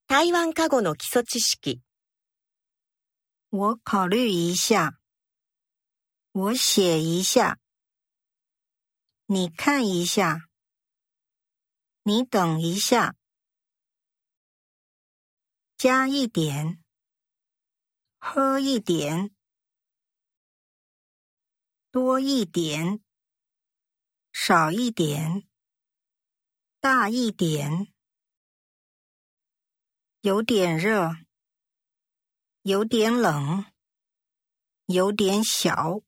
台湾過語の基礎知識。 我考虑一下。我写一下。你看一下。你等一下。加一点。喝一点。多一点。少一点。大一点。有点热。有点冷。有点小。